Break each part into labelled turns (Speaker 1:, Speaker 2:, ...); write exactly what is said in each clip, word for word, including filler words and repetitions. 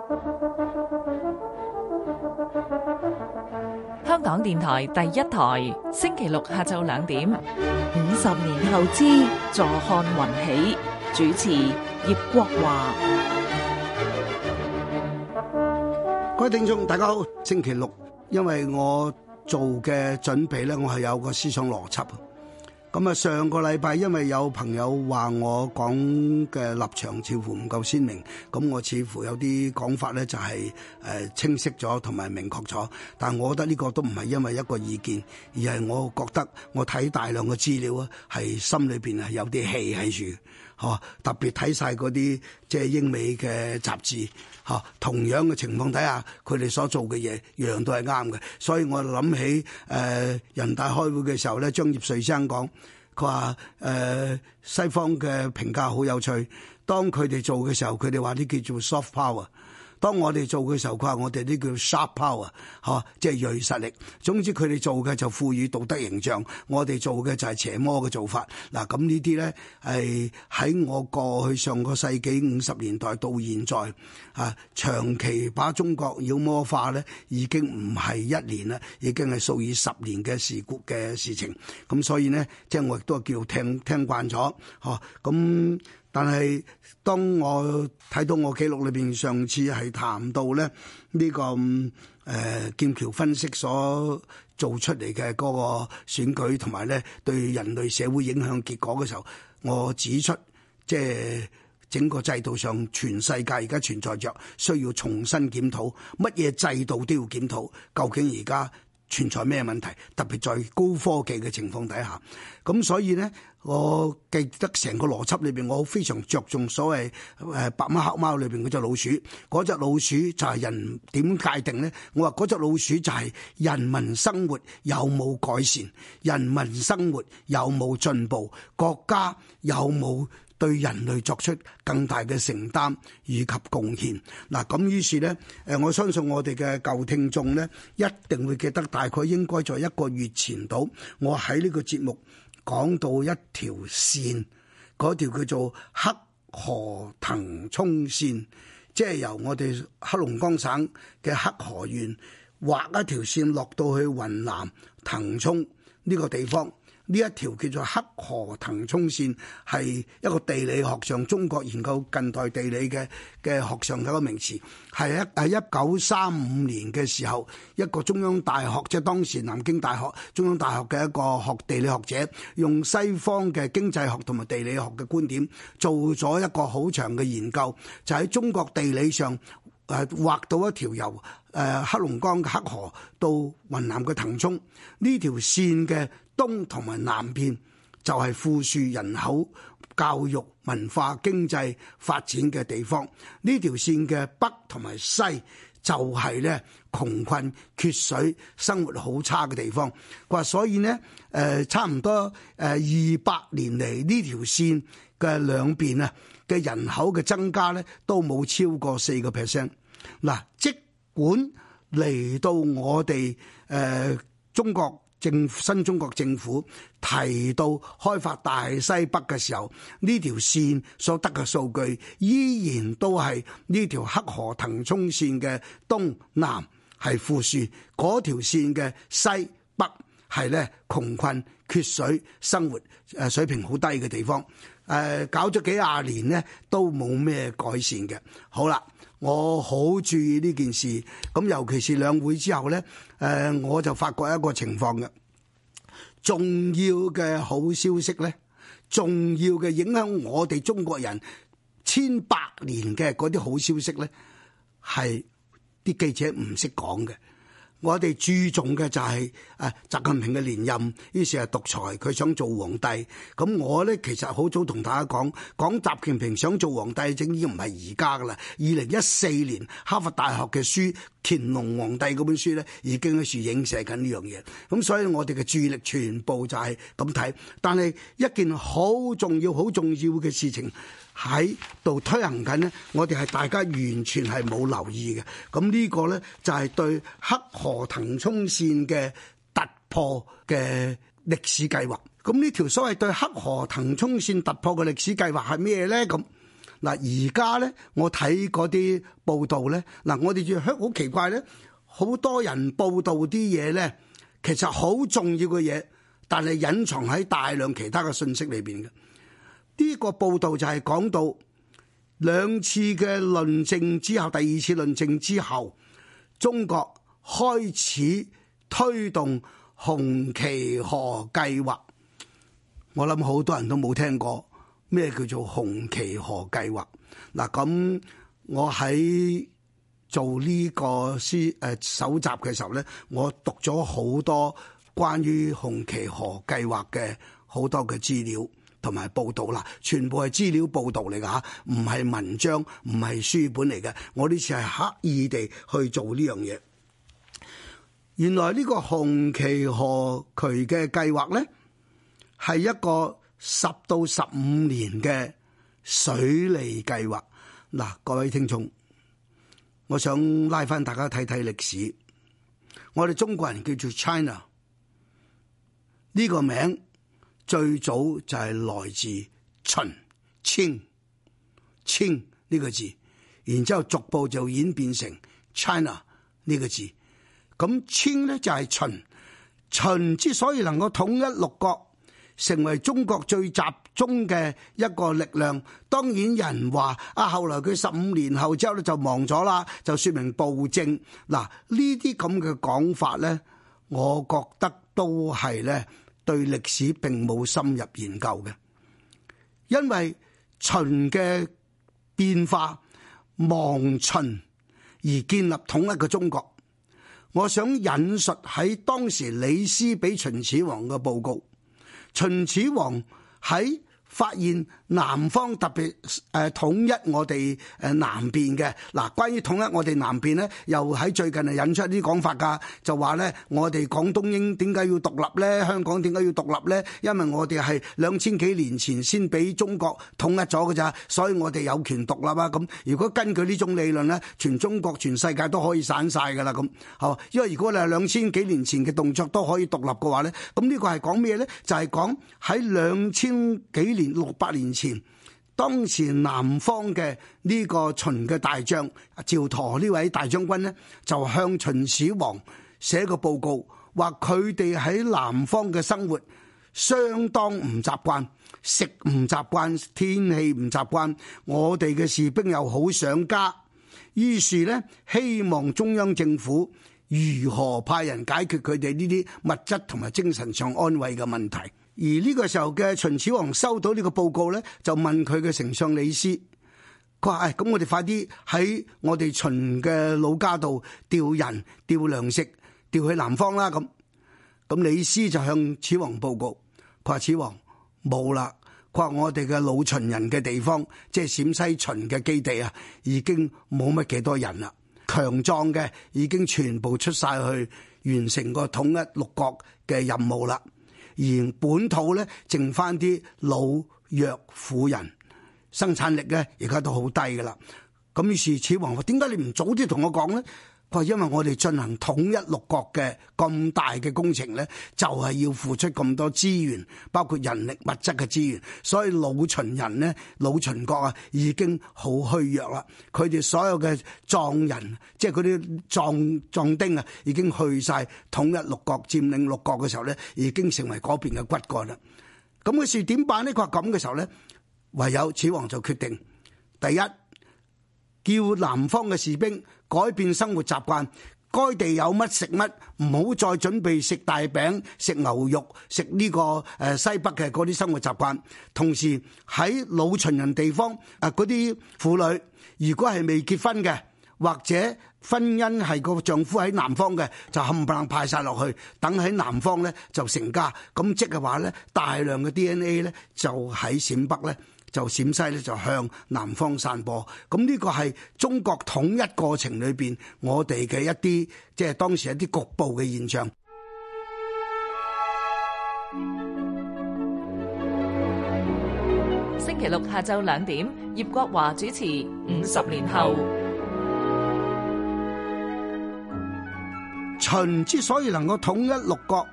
Speaker 1: 香港電台第一台，星期六下晝兩點。
Speaker 2: 五十年後之坐看雲起，主持葉國華。
Speaker 3: 各位聽眾大家好，星期六，因為我做嘅準備咧，我係有個思想邏輯。咁啊，上個禮拜因為有朋友話我講嘅立場似乎唔夠鮮明，咁我似乎有啲講法咧就係誒清晰咗同埋明確咗，但係我覺得呢個都唔係因為一個意見，而係我覺得我睇大量嘅資料啊，係心裏邊係有啲氣喺住。嚇！特別睇晒嗰啲即係英美嘅雜誌，嚇，同樣嘅情況底下，佢哋所做嘅嘢樣樣都係啱嘅。所以我諗起誒、呃、人大開會嘅時候咧，張業遂先生講，佢話誒西方嘅評價好有趣，當佢哋做嘅時候，佢哋話啲叫做 soft power。當我哋做嘅時候，佢話我哋呢叫 sharp power，嚇，即係銳實力。總之佢哋做嘅就賦予道德形象，我哋做嘅就係邪魔嘅做法。嗱，咁呢啲咧係喺我過去上個世紀五十年代到現在啊，長期把中國妖魔化咧，已經唔係一年啦，已經係數以十年嘅事故嘅事情。咁所以呢，即係我亦都叫聽聽慣咗，嚇咁。但係當我睇到我記錄裏邊上次係談到咧呢、這個誒、呃、劍橋分析所做出嚟嘅嗰個選舉同埋咧對人類社會影響結果嘅時候，我指出即係整個制度上全世界而家存在着需要重新檢討，乜嘢制度都要檢討，究竟而家存在咩問題？特別在高科技嘅情況底下，咁所以咧。我記得成個邏輯裏邊，我非常着重所謂誒白貓黑貓裏邊嗰隻老鼠，嗰隻老鼠就係人點界定咧？我話嗰隻老鼠就係人民生活有冇改善，人民生活有冇進步，國家有冇對人類作出更大嘅承擔以及貢獻。嗱，咁於是咧，誒我相信我哋嘅舊聽眾咧，一定會記得大概應該在一個月前度，我喺呢個節目。講到一條線，嗰條叫做黑河騰涌線，即係由我哋黑龍江省嘅黑河縣畫一條線落到去雲南騰衝呢個地方。呢一條叫做黑河騰涌線，係一個地理學上中國研究近代地理嘅嘅學上嘅一個名詞，係一係一九三五年嘅時候，一個中央大學，即係當時南京大學中央大學嘅一個學地理學者，用西方嘅經濟學同埋地理學嘅觀點，做咗一個好長嘅研究，就喺中國地理上誒畫到一條由誒黑龍江嘅黑河到雲南嘅騰衝呢條線嘅。東同埋南邊就係富庶人口、教育、文化、經濟發展嘅地方。呢條線嘅北同埋西就係咧窮困缺水、生活好差嘅地方。佢話所以呢，誒、呃、差唔多誒二百年嚟呢條線嘅兩邊啊嘅人口嘅增加咧都冇超過四個 percent。嗱，即管嚟到我哋誒、呃、中國。政新中國政府提到開發大西北嘅時候，呢條線所得嘅數據依然都係呢條黑河騰衝線嘅東南係富庶，嗰條線嘅西北係咧窮困缺水，生活誒水平好低嘅地方。誒、呃、搞咗幾廿年咧都冇咩改善嘅。好啦。我好注意呢件事，咁尤其是兩會之後咧，誒我就發覺一個情況嘅，重要嘅好消息咧，重要嘅影響我哋中國人千百年嘅嗰啲好消息咧，係啲記者唔識講嘅。我哋注重嘅就係誒習近平嘅連任，於是係獨裁，佢想做皇帝。咁我咧其實好早同大家講，講習近平想做皇帝，正已經唔係而家噶啦。二零一四年哈佛大學嘅書《乾隆皇帝》嗰本書咧，已經喺處影射緊呢樣嘢。咁所以我哋嘅注意力全部就係咁睇。但係一件好重要、好重要嘅事情喺度推行緊呢，我哋係大家完全係冇留意嘅。咁呢個呢，就係對黑河騰衝線嘅突破嘅歷史計劃。咁呢條所謂對黑河騰衝線突破嘅歷史計劃係咩呢？咁嗱，而家咧我睇嗰啲報道咧，嗱，我哋就好奇怪咧，好多人報道啲嘢咧，其實好重要嘅嘢，但係隱藏喺大量其他嘅信息裏邊嘅。呢個報道就係講到兩次嘅論證之後，第二次論證之後，中國開始推動紅旗河計劃。我諗好多人都冇聽過咩叫做紅旗河計劃。嗱，咁我喺做呢個書誒搜集嘅時候咧，我讀咗好多關於紅旗河計劃嘅好多嘅資料同埋報道啦，全部係資料報道嚟㗎嚇，唔係文章，唔係書本嚟嘅。我呢次係刻意地去做呢樣嘢。原來呢個紅旗河渠嘅計劃咧，係一個十到十五年嘅水利計劃。嗱，各位聽眾，我想拉翻大家睇睇歷史。我哋中國人叫做 China， 呢個名最早就係來自秦清清呢個字，然之後逐步就演變成 China 呢個字。咁清咧就係秦，秦之所以能夠統一六國，成為中國最集中嘅一個力量，當然有人話啊，後來佢十五年後之後咧就忘咗啦，就說明暴政。嗱，呢啲咁嘅講法咧，我覺得都係咧對歷史並冇深入研究嘅，因為秦嘅變化亡秦而建立統一嘅中國。我想引述喺當時李斯俾秦始皇嘅報告。秦始皇喺發現南方特別誒統一我哋誒南邊嘅。嗱，關於統一我哋南邊咧，又喺最近係引出啲講法㗎，就話咧我哋廣東應點解要獨立咧？香港點解要獨立咧？因為我哋係兩千幾年前先俾中國統一咗㗎咋，所以我哋有權獨立啊！咁如果根據呢種理論咧，全中國全世界都可以散晒㗎啦咁。好，因為如果你係兩千幾年前嘅動作都可以獨立嘅話咧，咁呢個係講咩咧？就係講喺兩千幾年。六百年前，當時南方嘅呢個秦嘅大將趙佗呢位大將軍呢，就向秦始皇寫個報告，話佢哋喺南方嘅生活相當唔習慣，食唔習慣，天氣唔習慣，我哋嘅士兵又好想家，於是呢，希望中央政府如何派人解決佢哋呢啲物質同埋精神上安慰嘅問題。而呢個時候嘅秦始皇收到呢個報告咧，就問佢嘅丞相李斯，佢話：誒，咁我哋快啲喺我哋秦嘅老家度調人、調糧食、調去南方啦。咁咁李斯就向始皇報告，佢話：始皇冇啦，佢話我哋嘅老秦人嘅地方，即係陝西秦嘅基地啊，已經冇乜幾多人啦，強壯嘅已經全部出晒去完成個統一六國嘅任務啦。而本土咧，剩翻啲老弱婦人，生產力咧而家都好低噶啦。咁於是始皇話：點解你唔早啲同我講咧？佢話：因為我哋進行統一六國嘅咁大嘅工程咧，就係要付出咁多資源，包括人力物質嘅資源。所以老秦人咧，老秦國啊，已經好虛弱啦。佢哋所有嘅壯人，即係嗰啲壯壯丁啊，已經去晒統一六國、佔領六國嘅時候咧，已經成為嗰邊嘅骨幹啦。咁嘅事點辦呢？佢話咁嘅時候咧，唯有始皇就決定，第一，叫南方嘅士兵改變生活習慣，該地有乜食乜，唔好再準備食大餅、食牛肉、食呢個誒西北嘅嗰啲生活習慣。同時喺老秦人地方誒嗰啲婦女，如果係未結婚嘅，或者婚姻係個丈夫喺南方嘅，就冚唪唥派晒落去，等喺南方咧就成家。咁即係話咧，大量嘅 D N A 咧就喺陝北咧。就陝西咧就向南方散播，咁呢個係中國統一過程裏邊我哋嘅一啲即係當時一啲局部嘅現象。
Speaker 1: 星期六下晝兩點，葉國華主持《五十年後》。
Speaker 3: 秦之所以能夠統一六國，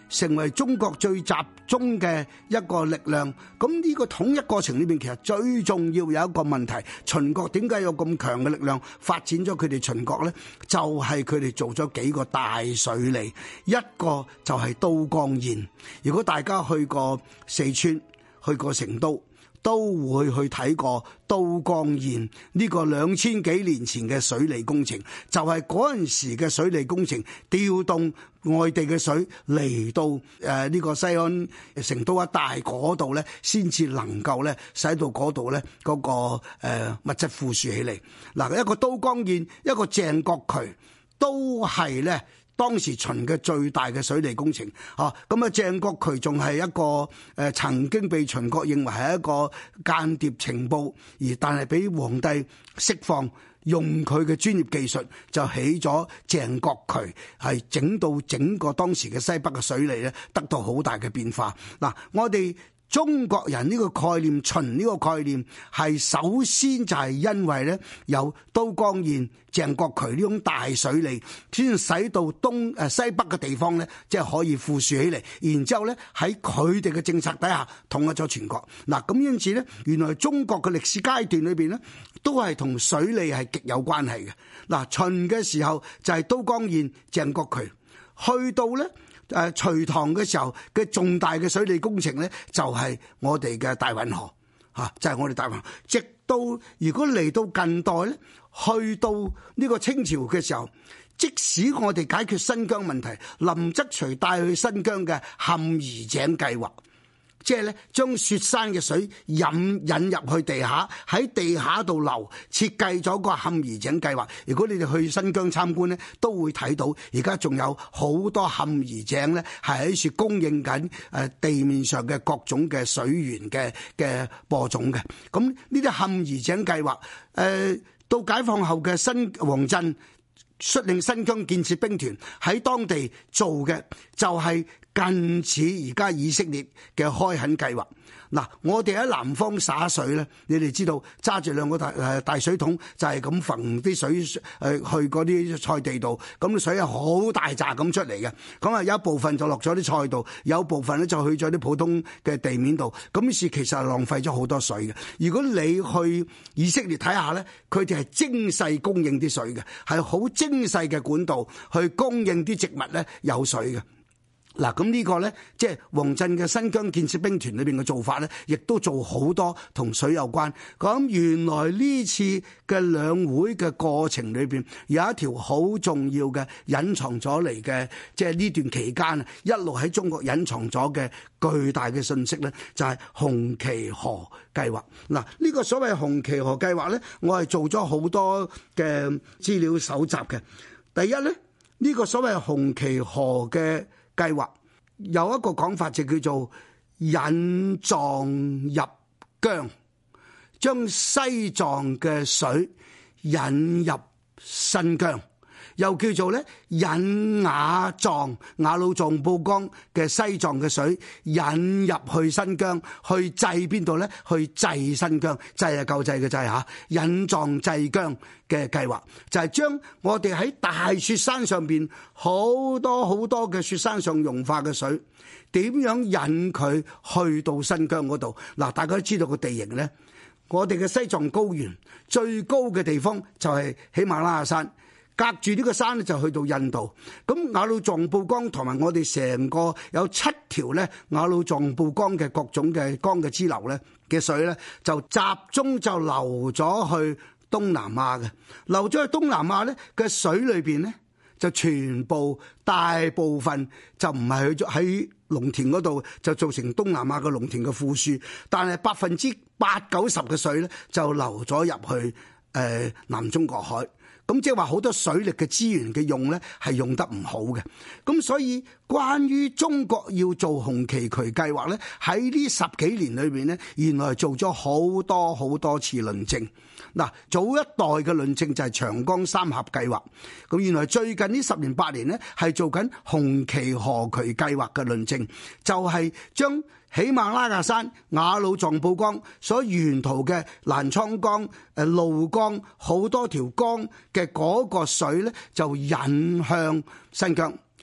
Speaker 3: 成為中國最集中嘅一個力量。咁呢個統一過程裏邊，其實最重要有一個問題，秦國點解有咁強嘅力量發展咗佢哋秦國呢？就係佢哋做咗幾個大水利，一個就係都江堰。如果大家去過四川、去過成都，都會去睇過都江堰呢個兩千幾年前嘅水利工程，就係嗰陣時嘅水利工程，調動外地嘅水嚟到誒呢個西安成都一帶嗰度咧，先至能夠咧使到嗰度咧嗰個誒物質富庶起嚟。嗱，一個都江堰，一個鄭國渠，都係咧當時秦嘅最大嘅水利工程，啊，咁啊鄭國渠仲係一個誒、呃、曾經被秦國認為係一個間諜情報，而但係俾皇帝釋放，用佢嘅專業技術就起咗鄭國渠，係整到整個當時嘅西北嘅水利咧得到好大嘅變化。嗱，我哋中國人呢個概念，秦呢個概念係首先就係因為咧有都江堰、鄭國渠呢種大水利，先使到東誒西北嘅地方咧，即係可以富庶起嚟。然之後咧喺佢哋嘅政策底下統一咗全國。嗱，咁因此咧，原來中國嘅歷史階段裏邊咧，都係同水利係極有關係嘅。嗱，秦嘅時候就係都江堰、鄭國渠，去到咧。誒隋唐嘅時候嘅重大嘅水利工程咧，就係我哋嘅大運河嚇，就係我哋大運河。直到如果嚟到近代咧，去到呢個清朝嘅時候，即使我哋解決新疆問題，林則徐帶去新疆嘅坎兒井計劃，即係咧將雪山嘅水引引入去地下，喺地下度流，設計咗個坎兒井計劃。如果你哋去新疆參觀咧，都會睇到而家仲有好多坎兒井咧，係喺處供應緊誒地面上嘅各種嘅水源嘅嘅播種嘅。咁呢啲坎兒井計劃，誒、呃、到解放後嘅新王震率領新疆建設兵團喺當地做嘅，就係近似而家以色列嘅開墾計劃。嗱，我哋喺南方灑水咧，你哋知道揸住兩個大誒大水桶，就係咁揈啲水誒去嗰啲菜地度，咁啲水係好大扎咁出嚟嘅。咁啊有一部分就落咗啲菜度，有部分咧就去咗啲普通嘅地面度。咁於是其實係浪費咗好多水嘅。如果你去以色列睇下咧，佢哋係精細供應啲水嘅，係好精細嘅管道去供應啲植物咧有水嘅。嗱，咁呢個咧，即係王震嘅新疆建設兵團裏邊嘅做法咧，亦都做好多同水有關。咁原來呢次嘅兩會嘅過程裏邊，有一條好重要嘅隱藏咗嚟嘅，即係呢段期間啊，一路喺中國隱藏咗嘅巨大嘅信息咧，就係紅旗河計劃。嗱，呢個所謂紅旗河計劃咧，我係做咗好多嘅資料搜集嘅。第一咧，呢個所謂紅旗河嘅計劃有一個講法就叫做引藏入疆，將西藏嘅水引入新疆，又叫做咧引雅藏雅魯藏布江嘅西藏嘅水引入去新疆，去制邊度咧？去制新疆，制係救濟嘅制嚇，引藏制疆嘅計劃就係將我哋喺大雪山上邊好多好多嘅雪山上融化嘅水，點樣引佢去到新疆嗰度？嗱，大家都知道個地形咧，我哋嘅西藏高原最高嘅地方就係喜馬拉雅山。隔住呢個山咧就去到印度，咁雅魯藏布江同埋我哋成個有七條咧雅魯藏布江嘅各種嘅江嘅支流咧嘅水咧，就集中就流咗去東南亞嘅，流咗去東南亞咧嘅水裏邊咧就全部大部分就唔係去咗喺農田嗰度，就造成東南亞嘅農田嘅富庶，但係百分之八九十嘅水咧就流咗入去誒、呃、南中國海。咁即係話好多水力嘅資源嘅用咧係用得唔好嘅，咁所以關於中國要做紅旗渠計劃咧，喺呢十幾年裏邊咧，原來做咗好多好多次論證。嗱，早一代嘅論證就係長江三峽計劃，咁原來最近呢十年八年咧係做緊紅旗河渠計劃嘅論證，就係將喜馬拉雅山雅魯藏布江所沿途嘅瀾滄江、誒怒江好多條江嘅嗰個水咧，就引向新疆。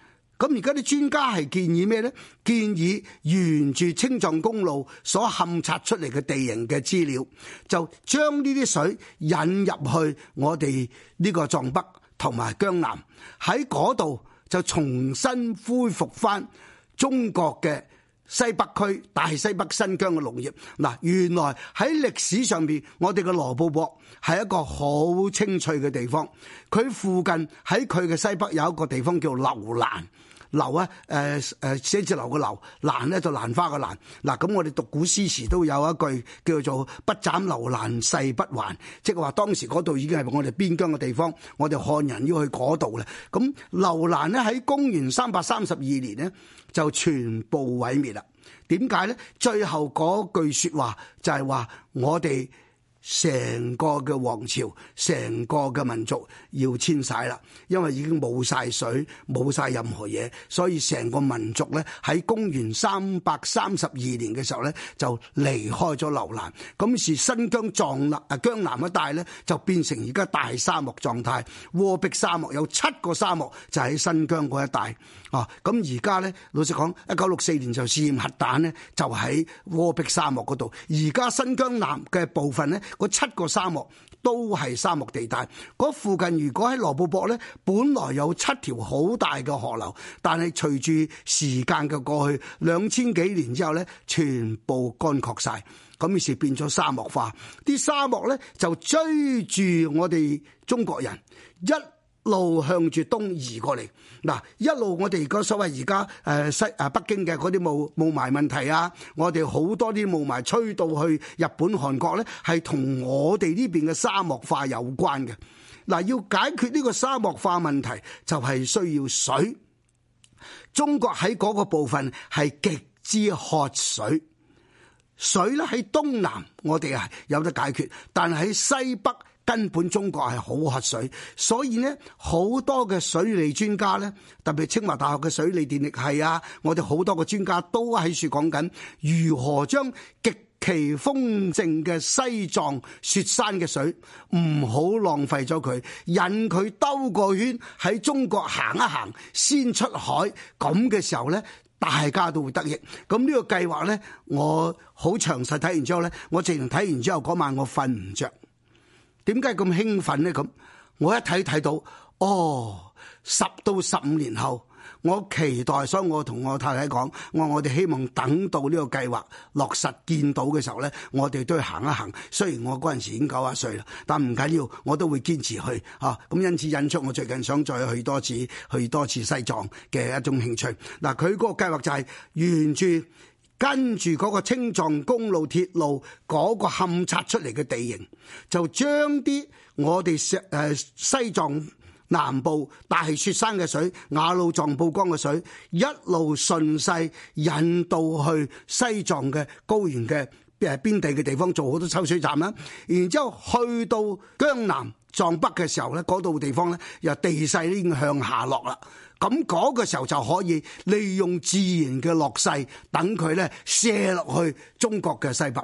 Speaker 3: 咁而家啲專家係建議咩呢？建議沿住青藏公路所勘察出嚟嘅地形嘅資料，就將呢啲水引入去我哋呢個藏北同埋江南，喺嗰度就重新恢復翻中國嘅西北區、大西北新疆嘅農業。嗱，原來喺歷史上邊，我哋嘅羅布泊係一個好青翠嘅地方。佢附近喺佢嘅西北有一個地方叫樓蘭。樓啊，誒誒寫字樓嘅樓，蘭咧就蘭花嘅蘭。嗱，咁我哋讀古詩詞都有一句叫做不斬樓蘭誓不還，即係話當時嗰度已經係我哋邊疆嘅地方，我哋漢人要去嗰度咧。咁樓蘭咧喺公元三百三十二年呢，就全部毀滅啦。點解咧？最後嗰句説話就係話我哋成個嘅王朝、成個嘅民族要遷徙啦，因為已經冇晒水、冇晒任何嘢，所以成個民族咧喺公元三百三十二年嘅時候咧就離開咗樓蘭。咁是新疆藏南啊江南一帶咧就變成而家大沙漠狀態，戈壁沙漠有七個沙漠就喺新疆嗰一帶啊。咁而家咧老實講，一九六四年就試驗核彈咧，就喺戈壁沙漠嗰度。而家新疆南嘅部分咧，嗰七個沙漠都係沙漠地帶。嗰附近如果喺羅布泊咧，本來有七條好大嘅河流，但係隨住時間嘅過去，兩千幾年之後咧，全部乾涸晒，咁於是變咗沙漠化。啲沙漠咧就追住我哋中國人一路向住東移過嚟。嗱，一路我哋而家所謂而家誒西誒北京嘅嗰啲霧霧霾問題啊，我哋好多啲霧霾吹到去日本、韓國咧，係同我哋呢邊嘅沙漠化有關嘅。嗱，要解決呢個沙漠化問題，就係需要水。中國喺嗰個部分係極之渴水，水咧喺東南我哋係有得解決，但係喺西北根本中國係好渴水，所以呢好多嘅水利專家呢，特別清華大學嘅水利電力系啊，我哋好多個專家都喺處講緊如何將極其豐盛嘅西藏雪山嘅水唔好浪費咗佢，引佢兜個圈喺中國行一行，先出海，咁嘅時候呢，大家都會得益。咁呢個計劃呢，我好詳細睇完之後呢，我直情睇完之後嗰晚我瞓唔着。點解咁興奮呢？咁我一睇睇到，哦，十到十五年後，我期待，所以我同我太太講，我話我哋希望等到呢個計劃落實見到嘅時候呢，我哋都要行一行。雖然我嗰陣時已經九十歲啦，但唔緊要，我都會堅持去啊。咁因此引出我最近想再去多次，去多次西藏嘅一種興趣。嗱，佢嗰個計劃就係沿住跟住嗰個青藏公路鐵路嗰個勘察出嚟嘅地形，就將啲我哋誒西藏南部大雪山嘅水、雅魯藏布江嘅水，一路順勢引到去西藏嘅高原嘅誒邊地嘅地方，做好多抽水站啦。然之後去到江南藏北嘅時候咧，嗰度地方咧又地勢已經向下落啦。咁嗰個時候就可以利用自然嘅落勢，等佢咧射落去中國嘅西北。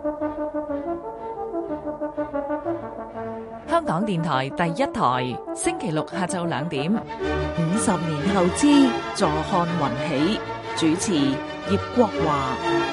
Speaker 1: 香港電台第一台，星期六下晝兩點。
Speaker 2: 五十年後之坐看雲起，主持葉國華。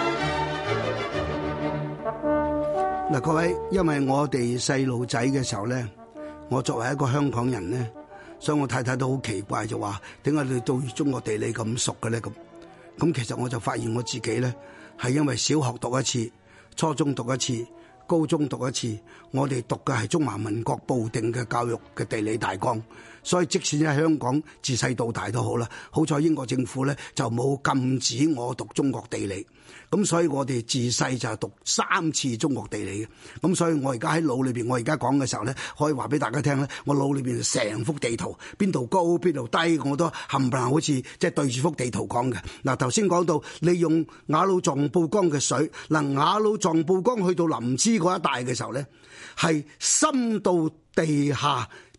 Speaker 3: 嗱，各位，因為我哋細路仔嘅時候咧，我作為一個香港人咧，所以我太太都好奇怪，就話點解你對中國地理咁熟嘅咧？咁咁其實我就發現我自己咧，係因為小學讀一次，初中讀一次，高中讀一次，我哋讀嘅係中華民國部定嘅教育嘅地理大綱，所以即使喺香港自細到大都好啦，好彩英國政府咧就冇禁止我讀中國地理，咁所以我哋自細就係讀三次中國地理嘅，咁所以我而家喺腦裏邊，我而家講嘅時候咧，可以話俾大家聽咧，我腦裏邊成幅地圖，邊度高邊度低，我都冚唪唥好似即係對住幅地圖講嘅。嗱，頭先講到利用雅魯藏布江嘅水，嗱，雅魯藏布江去到林芝嗰一帶嘅時候咧，係深到地下，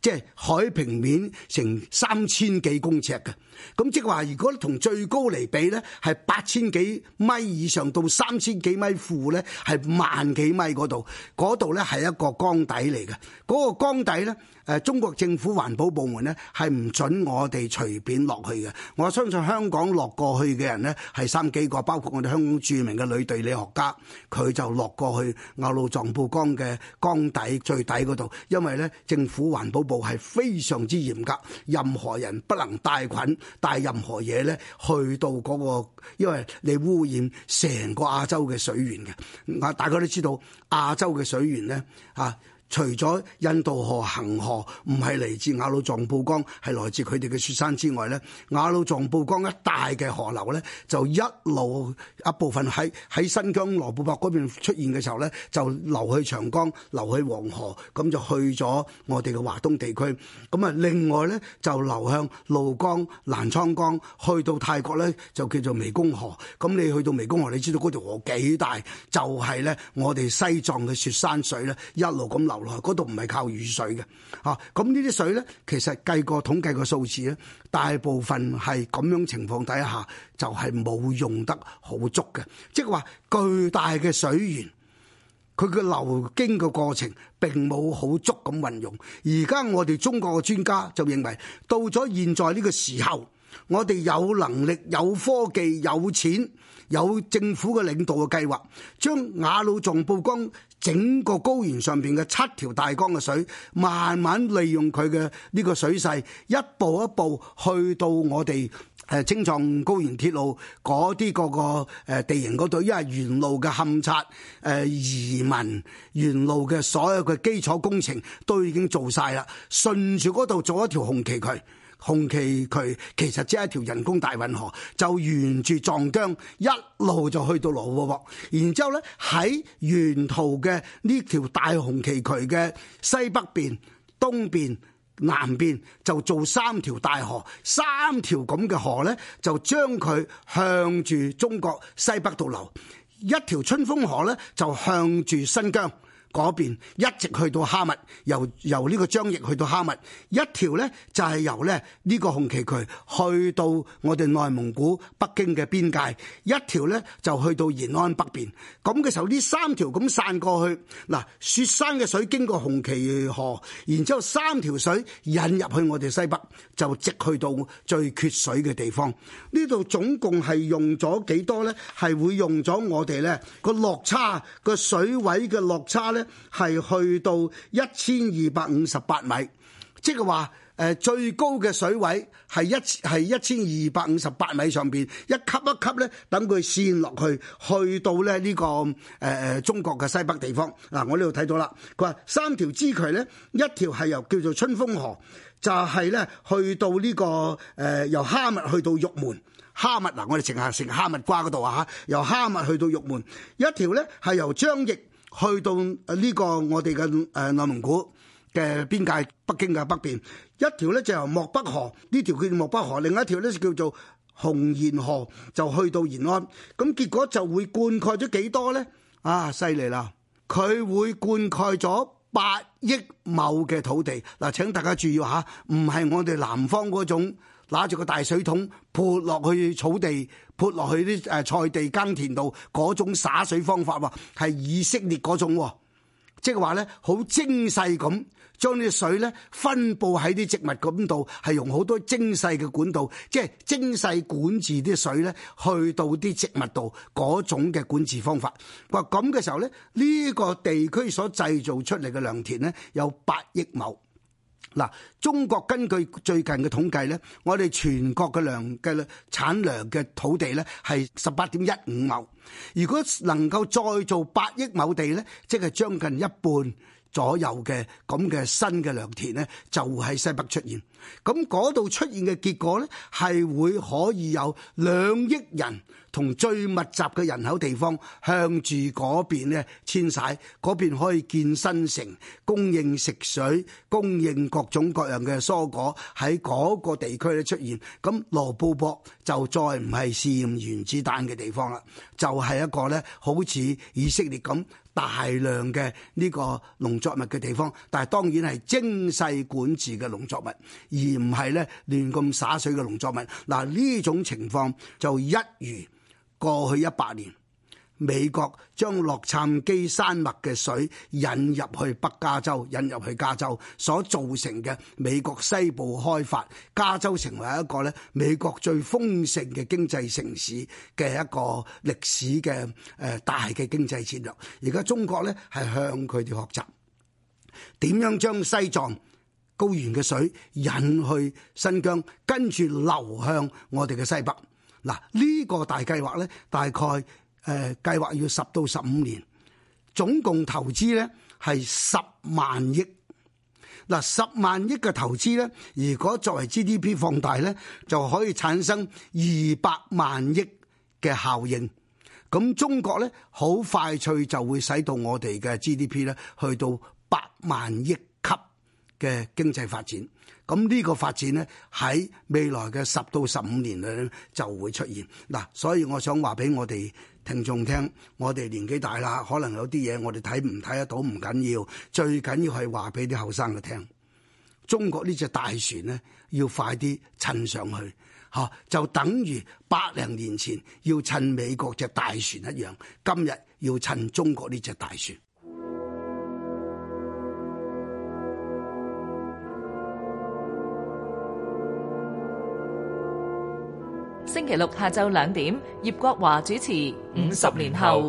Speaker 3: 即係海平面成三千幾公尺嘅。咁即係話，如果同最高嚟比咧，係八千幾米以上到三千幾米負咧，係萬幾米嗰度，嗰度咧係一個江底嚟嘅。嗰個江底咧，誒中國政府環保部門咧係唔准我哋隨便落去嘅。我相信香港落過去嘅人咧係三幾個，包括我哋香港著名嘅女地理學家，佢就落過去雅魯藏布江嘅江底最底嗰度，因為咧政府環保部係非常之嚴格，任何人不能帶菌。帶任何嘢咧去到嗰個，因為你污染成個亞洲嘅水源嘅。啊，大家都知道亞洲嘅水源咧啊。除咗印度河、恒河唔係嚟自雅魯藏布江，係來自佢哋嘅雪山之外咧，雅魯藏布江一帶嘅河流咧，就一路一部分喺喺新疆羅布泊嗰邊出現嘅時候咧，就流去長江、流去黃河，咁就去咗我哋嘅華東地區。咁啊，另外咧就流向怒江、瀾滄江，去到泰國咧就叫做湄公河。咁你去到湄公河，你知道嗰條河幾大？就係咧我哋西藏嘅雪山水咧，一路咁流落去，嗰度唔係靠雨水嘅，啊，咁呢啲水咧，其實計過統計個數字咧，大部分係咁樣情況底下，就係冇用得好足嘅，即係話巨大嘅水源，佢嘅流經嘅過程並冇好足咁運用。而家我哋中國嘅專家就認為，到咗現在呢個時候，我哋有能力、有科技、有錢、有政府嘅領導嘅計劃，將雅魯藏布江整個高原上邊嘅七條大江嘅水，慢慢利用佢嘅呢個水勢，一步一步去到我哋誒青藏高原鐵路嗰啲個個誒地形嗰度，因為沿路嘅勘察、誒移民、沿路嘅所有嘅基礎工程都已經做晒啦，順住嗰度做一條紅旗渠。紅旗渠其實只係一條人工大運河，就沿住藏疆一路就去到羅布泊，然之後咧喺沿途嘅呢條大紅旗渠嘅西北邊、東邊、南邊就做三條大河，三條咁嘅河咧就將佢向住中國西北度流，一條春風河咧就向住新疆嗰邊一直去到哈密，由由呢個張掖去到哈密，一條咧就係由咧呢個紅旗渠去到我哋內蒙古北京嘅邊界，一條咧就去到延安北邊。咁嘅時候，呢三條咁散過去，嗱，雪山嘅水經過紅旗河，然之後三條水引入去我哋西北，就直去到最缺水嘅地方。呢度總共係用咗幾多咧？係會用咗我哋咧個落差，個水位嘅落差咧，係去到一千二百五十八米，即係話誒最高嘅水位係一係一千二百五十八米上邊，一級一級咧，等佢線落去，去到咧、這、呢個誒誒、呃、中國嘅西北地方。嗱、啊，我呢度睇到啦，佢話三條支渠咧，一條係由叫做春風河，就係、是、咧去到呢、這個誒、呃、由哈密去到玉門。哈密嗱，我哋成日成哈密瓜嗰度啊嚇，由哈密去到玉門，一條咧係由張掖去到呢個我哋嘅誒內蒙古嘅邊界，北京嘅北邊，一條咧就由漠北河，呢條叫做漠北河，另一條咧就叫做紅延河，就去到延安。咁結果就會灌溉咗幾多咧？啊，犀利啦！佢會灌溉咗八億畝嘅土地。嗱，請大家注意下，唔係我哋南方嗰種拿住個大水桶潑落去草地，潑落去啲誒菜地耕田度嗰種灑水方法喎，係以色列嗰種，即係話咧好精細咁將啲水咧分佈喺啲植物咁度，係用好多精細嘅管道，即係精細管治啲水咧去到啲植物度嗰種嘅管治方法。話咁嘅時候咧，呢個地區所製造出嚟嘅良田咧有八億畝。嗱，中國根據最近嘅統計咧，我哋全國嘅糧嘅產糧嘅土地咧係十八點一五畝。如果能夠再做八億畝地咧，即係將近一半左右嘅咁嘅新嘅良田咧，就喺西北出現。 咁嗰度出現嘅結果呢，係會可以有兩億人同最密集嘅人口地方向住嗰邊呢遷徙，嗰邊可以建新城，供應食水，供應各種各樣嘅蔬果喺嗰個地區咧出現。咁羅布泊就再唔係試驗原子彈嘅地方啦，就係、是、一個呢好似以色列咁大量嘅呢個農作物嘅地方，但係當然係精細管治嘅農作物，而唔係咧亂咁灑水嘅農作物。嗱，呢種情況就一如過去一百年美國將洛杉磯山脈嘅水引入去北加州，引入去加州所造成嘅美國西部開發，加州成為一個咧美國最豐盛嘅經濟城市嘅一個歷史嘅誒大嘅經濟戰略。而家中國咧係向佢哋學習點樣將西藏高原嘅水引去新疆，跟住流向我哋嘅西北。嗱，呢個大計劃咧，大概誒、呃、計劃要十到十五年，總共投資咧係十萬億。嗱，十萬億嘅投資咧，如果作為 G D P 放大咧，就可以產生二百萬億嘅效應。咁中國咧好快脆就會使到我哋嘅 G D P 咧去到百萬億級嘅經濟發展。咁呢個發展呢，喺未來嘅十到十五年裏咧就會出現。嗱，所以我想話俾我哋聽眾聽，我哋年紀大啦，可能有啲嘢我哋睇唔睇得到唔緊要，最緊要係話俾啲後生嘅聽。中國呢隻大船呢，要快啲趁上去，嚇就等於百零年前要趁美國隻大船一樣，今日要趁中國呢隻大船。
Speaker 1: 星期六下晝兩點，葉國華主持《五十年後》。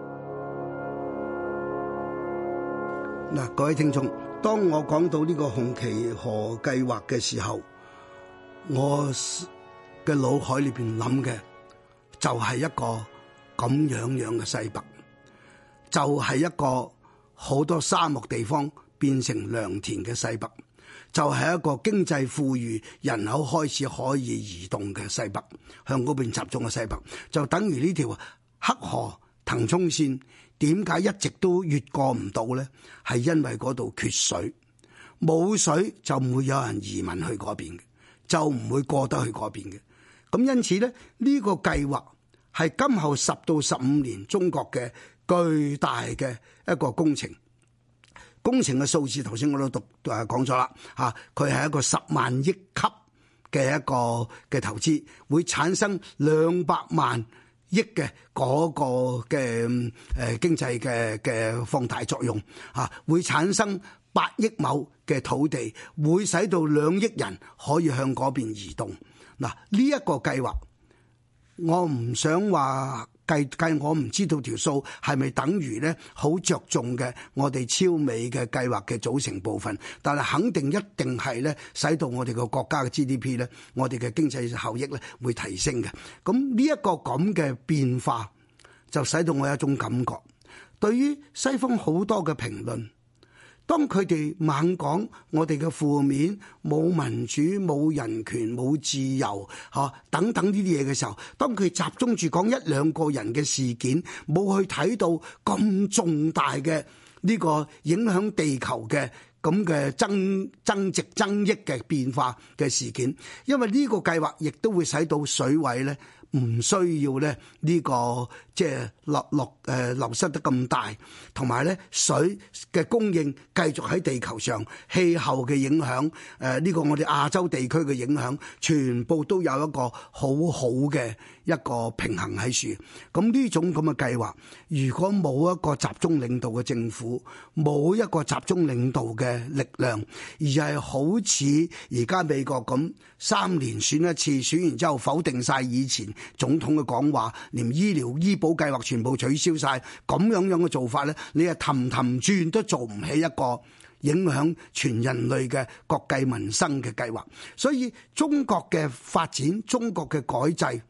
Speaker 3: 嗱，各位聽眾，當我講到呢個紅旗河計劃嘅時候，我嘅腦海裏邊諗嘅就係一個咁樣樣嘅西北，就係一個好多沙漠地方變成良田嘅西北。就係一個經濟富裕、人口開始可以移動嘅西北，向嗰邊集中嘅西北，就等於呢條黑河騰沖線點解一直都越過唔到呢？係因為嗰度缺水，冇水就唔會有人移民去嗰邊嘅，就唔會過得去嗰邊嘅。咁因此咧，呢個計劃係今後十到十五年中國嘅巨大嘅一個工程。工程嘅數字頭先我都讀誒講咗啦嚇，佢係一個十萬億級嘅一個嘅投資，會產生兩百萬億嘅嗰個嘅誒經濟嘅嘅放大作用嚇，會產生八億畝嘅土地，會使到兩億人可以向嗰邊移動。嗱，呢一個計劃，我唔想話。計計我唔知道條數係咪等於咧好着重嘅我哋超美嘅計劃嘅組成部分，但係肯定一定係咧使到我哋個國家嘅 G D P 咧，我哋嘅經濟效益咧會提升嘅。咁呢一個咁嘅變化就使到我有一種感覺，對於西方好多嘅評論，當佢哋猛講我哋嘅負面，冇民主、冇人權、冇自由，嚇等等呢啲嘢嘅時候，當佢集中住講一兩個人嘅事件，冇去睇到咁重大嘅呢個影響地球嘅咁嘅增增值增益嘅變化嘅事件，因為呢個計劃亦都會使到水位咧唔需要咧呢個即係落落誒流失得咁大，同埋咧水嘅供應繼續喺地球上，氣候嘅影響誒呢個我哋亞洲地區嘅影響，全部都有一個好好嘅一個平衡喺處。咁呢種咁嘅計劃，如果冇一個集中領導嘅政府，冇一個集中領導嘅力量，而係好似而家美國咁三年選一次，選完之後否定晒以前總統嘅講話，連醫療醫保計劃全部取消晒，咁樣樣嘅做法咧，你係氹氹轉都做唔起一個影響全人類嘅國計民生嘅計劃。所以中國嘅發展，中國嘅改制，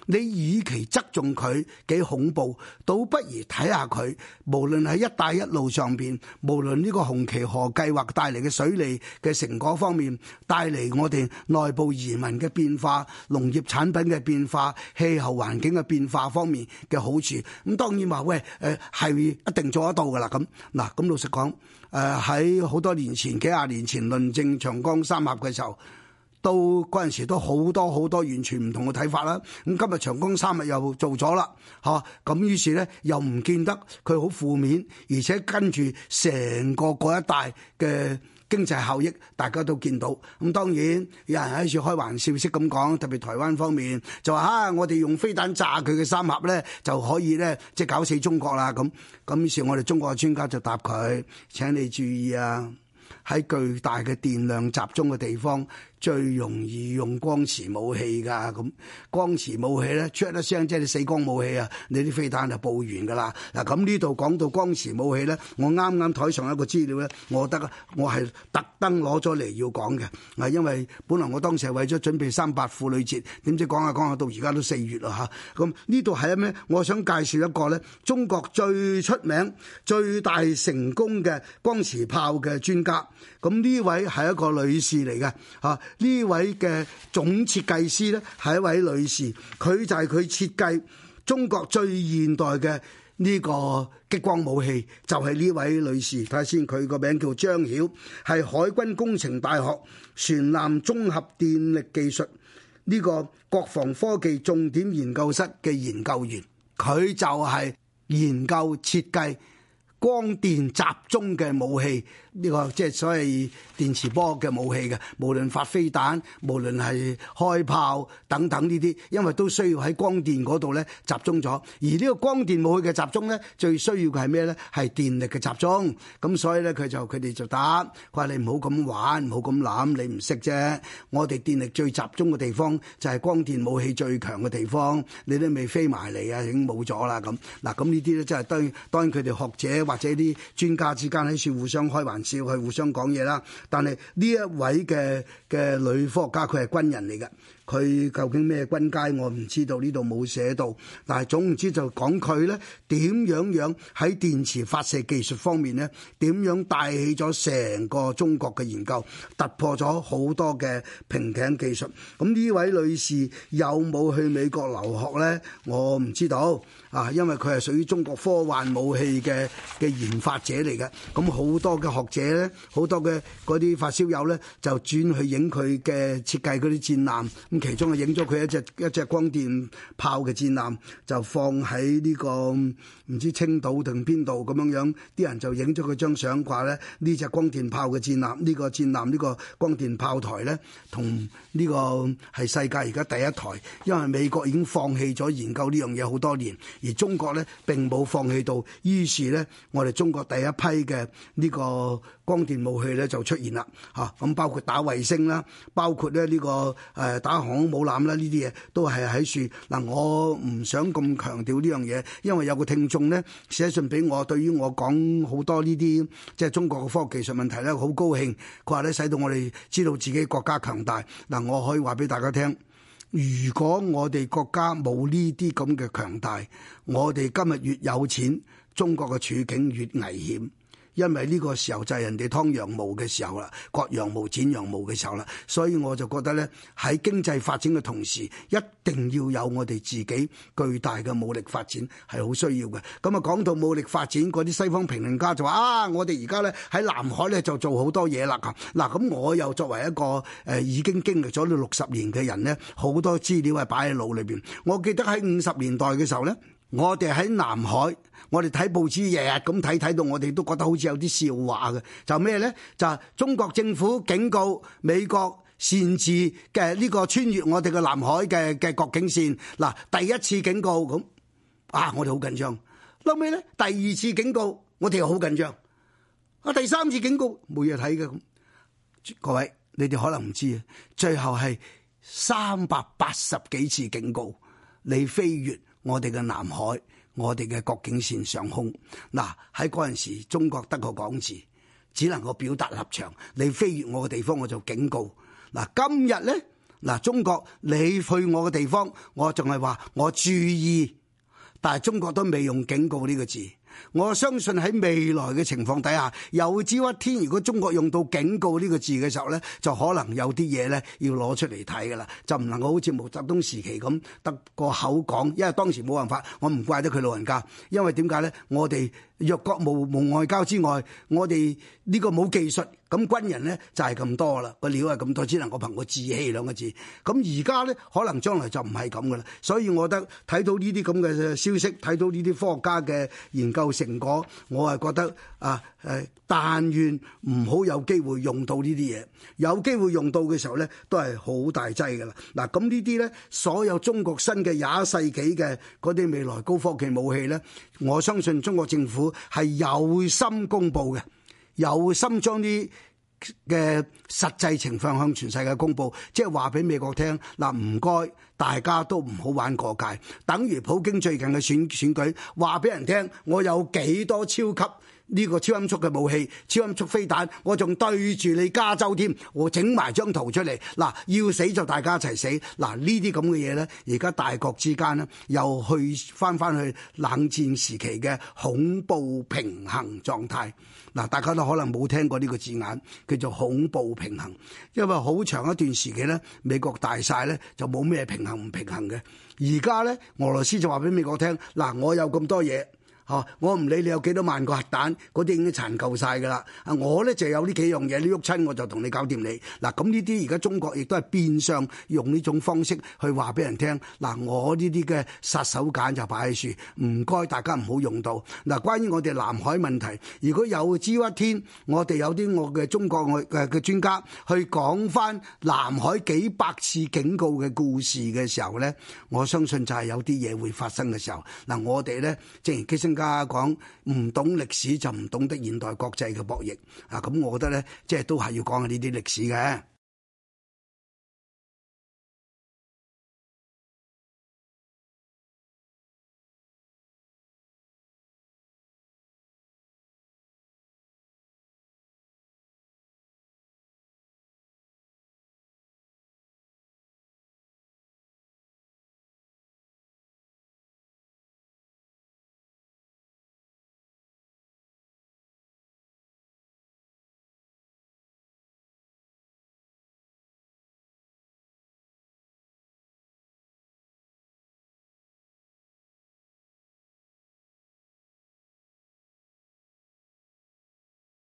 Speaker 3: 你與其側重佢幾恐怖，倒不如睇下佢，無論喺一帶一路上邊，無論呢個紅旗河計劃帶嚟嘅水利嘅成果方面，帶嚟我哋內部移民嘅變化、農業產品嘅變化、氣候環境嘅變化方面嘅好處。咁當然話喂，誒係一定做得到㗎啦。咁嗱，咁老實講，誒喺好多年前、幾廿年前論證長江三峽嘅時候，到嗰陣時都好多好多完全唔同嘅睇法啦。咁今日長江三峽又做咗啦，嚇咁於是咧又唔見得佢好負面，而且跟住成個嗰一帶嘅經濟效益大家都見到。咁當然有人喺處開玩笑式咁講，特別台灣方面就話啊，我哋用飛彈炸佢嘅三峽咧就可以咧即係搞死中國啦。咁咁於是我哋中國嘅專家就答佢：請你注意啊，喺巨大嘅電量集中嘅地方，最容易用光磁武器㗎。咁光磁武器咧，出一聲即係你死光武器啊，你啲飛彈就爆完㗎啦。嗱，咁呢度講到光磁武器咧，我啱啱台上一個資料咧，我覺得我係特登攞咗嚟要講嘅。啊，因為本來我當時係為咗準備三八婦女節，點知講下講下到而家都四月啦嚇。咁呢度係咩？我想介紹一個咧，中國最出名、最大成功嘅光磁炮嘅專家。咁呢位係一個女士嚟嘅嚇。呢位嘅總設計師咧係一位女士，佢就係佢設計中國最現代嘅呢個激光武器，就係呢位女士。睇下先，佢個名叫張曉，係海軍工程大學船艦綜合電力技術呢個國防科技重點研究室嘅研究員，佢就係研究設計光電集中嘅武器，呢個即係所謂電磁波嘅武器嘅，無論發飛彈，無論係開炮等等呢啲，因為都需要喺光電嗰度咧集中咗。而呢個光電武器嘅集中咧，最需要嘅係咩咧？係電力嘅集中。咁所以咧，佢就佢哋就答，佢話你唔好咁玩，唔好咁諗，你唔識啫。我哋電力最集中嘅地方就係光電武器最強嘅地方，你都未飛埋嚟啊，已經冇咗啦咁。嗱，咁呢啲咧，即係當然當然佢哋學者或者啲專家之間喺處互相開玩笑，去互相講嘢啦。但係呢一位嘅嘅女科學家，佢係軍人嚟嘅。佢究竟咩軍階我唔知道，呢度冇寫到。但係總唔知就講佢咧點樣樣喺電磁發射技術方面咧，點樣帶起咗成個中國嘅研究，突破咗好多嘅瓶頸技術。咁呢位女士有冇去美國留學咧？我唔知道啊，因為佢係屬於中國科幻武器嘅嘅研發者嚟嘅。咁好多嘅學者咧，好多嘅嗰啲發燒友咧，就轉去影佢嘅設計嗰啲戰艦。其中啊影咗佢一隻一隻光電炮嘅戰艦，就放喺呢個唔知青島定邊度咁樣樣，啲人就影咗佢張相，話咧呢隻光電炮嘅戰艦，呢個戰艦呢個光電炮台咧，同呢個係世界而家第一台，因為美國已經放棄咗研究呢樣嘢好多年，而中國咧並冇放棄到，於是咧我哋中國第一批嘅呢個光電武器咧就出現啦嚇，咁包括打衛星啦，包括咧呢個誒打航空母艦啦，呢啲嘢都係喺樹嗱。我唔想咁強調呢樣嘢，因為有個聽眾咧寫信俾我，對於我講好多呢啲即係中國嘅科學技術問題咧，好高興。佢話咧使到我哋知道自己國家強大嗱。我可以話俾大家聽，如果我哋國家冇呢啲咁嘅強大，我哋今日越有錢，中國嘅處境越危險。因為呢個時候就係人哋劏羊毛嘅時候啦，割羊毛剪羊毛嘅時候啦，所以我就覺得咧喺經濟發展嘅同時，一定要有我哋自己巨大嘅武力發展係好需要嘅。咁啊講到武力發展，嗰啲西方評論家就話啊，我哋而家咧喺南海咧就做好多嘢啦。嗱，咁我又作為一個誒、呃、已經經歷咗呢六十年嘅人咧，好多資料係擺喺腦裏邊。我記得喺五十年代嘅時候咧，我哋喺南海，我哋睇報紙日日咁睇，睇到我哋都覺得好似有啲笑話嘅。就咩咧？就係中國政府警告美國擅自嘅呢個穿越我哋嘅南海嘅嘅國境線。嗱，第一次警告咁啊，我哋好緊張。後尾咧，第二次警告，我哋又好緊張。啊，第三次警告冇嘢睇嘅咁。各位，你哋可能唔知啊，最後係三百八十幾次警告你飛越我哋嘅南海，我哋嘅國境線上空。嗱，喺嗰陣時，中國得個講字，只能夠表達立場。你飛越我嘅地方，我就警告。嗱，今日咧嗱，中國你去我嘅地方，我仲係話我注意，但係中國都未用警告呢個字。我相信喺未來嘅情況底下，有朝一天如果中國用到警告呢個字嘅時候呢，就可能有啲嘢呢要攞出嚟睇㗎啦，就唔能夠好似毛澤東時期咁得個口講，因為當時冇辦法，我唔怪得佢老人家，因為點解呢？我哋弱國無無外交之外，我哋呢個冇技術，咁軍人呢就係咁多啦，個料係咁多，只能夠憑個志氣兩個字。咁而家呢，可能將來就唔係咁噶啦，所以我覺得睇到呢啲咁嘅消息，睇到呢啲科學家嘅研究成果，我係覺得啊誒，但願唔好有機會用到呢啲嘢，有機會用到嘅時候呢，都係好大劑噶啦。嗱，咁呢啲呢，所有中國新嘅廿一世紀嘅嗰啲未來高科技武器呢，我相信中國政府係有心公布嘅，有心將啲嘅實際情況向全世界公布，即係話俾美國聽嗱，唔該大家都唔好玩過界，等於普京最近嘅選選舉，話俾人聽我有幾多超級呢個超音速嘅武器、超音速飛彈，我仲對住你加州添，我整埋張圖出嚟，嗱，要死就大家一齊死，嗱，呢啲咁嘅嘢呢，而家大國之間呢，又去翻翻去冷戰時期嘅恐怖平衡狀態。嗱，大家都可能冇聽過呢個字眼，叫做恐怖平衡，因為好長一段時期呢，美國大晒呢，就冇咩平衡唔平衡嘅，而家呢，俄羅斯就話俾美國聽，嗱，我有咁多嘢。哦，我唔理你有幾多萬個核彈，嗰啲已經殘夠晒㗎啦。啊，我咧就有呢幾樣嘢，你喐親我就同你搞掂你。嗱，咁呢啲而家中國亦都係變相用呢種方式去話俾人聽。嗱，我呢啲嘅殺手鐧就擺喺樹，唔該大家唔好用到。嗱，關於我哋南海問題，如果有朝一天我哋有啲我嘅中國嘅嘅專家去講翻南海幾百次警告嘅故事嘅時候咧，我相信就係有啲嘢會發生嘅時候。嗱，我哋咧正如基辛家講，唔懂歷史就唔懂得現代國際嘅博弈啊！咁我覺得咧，即係都係要講下呢啲歷史嘅。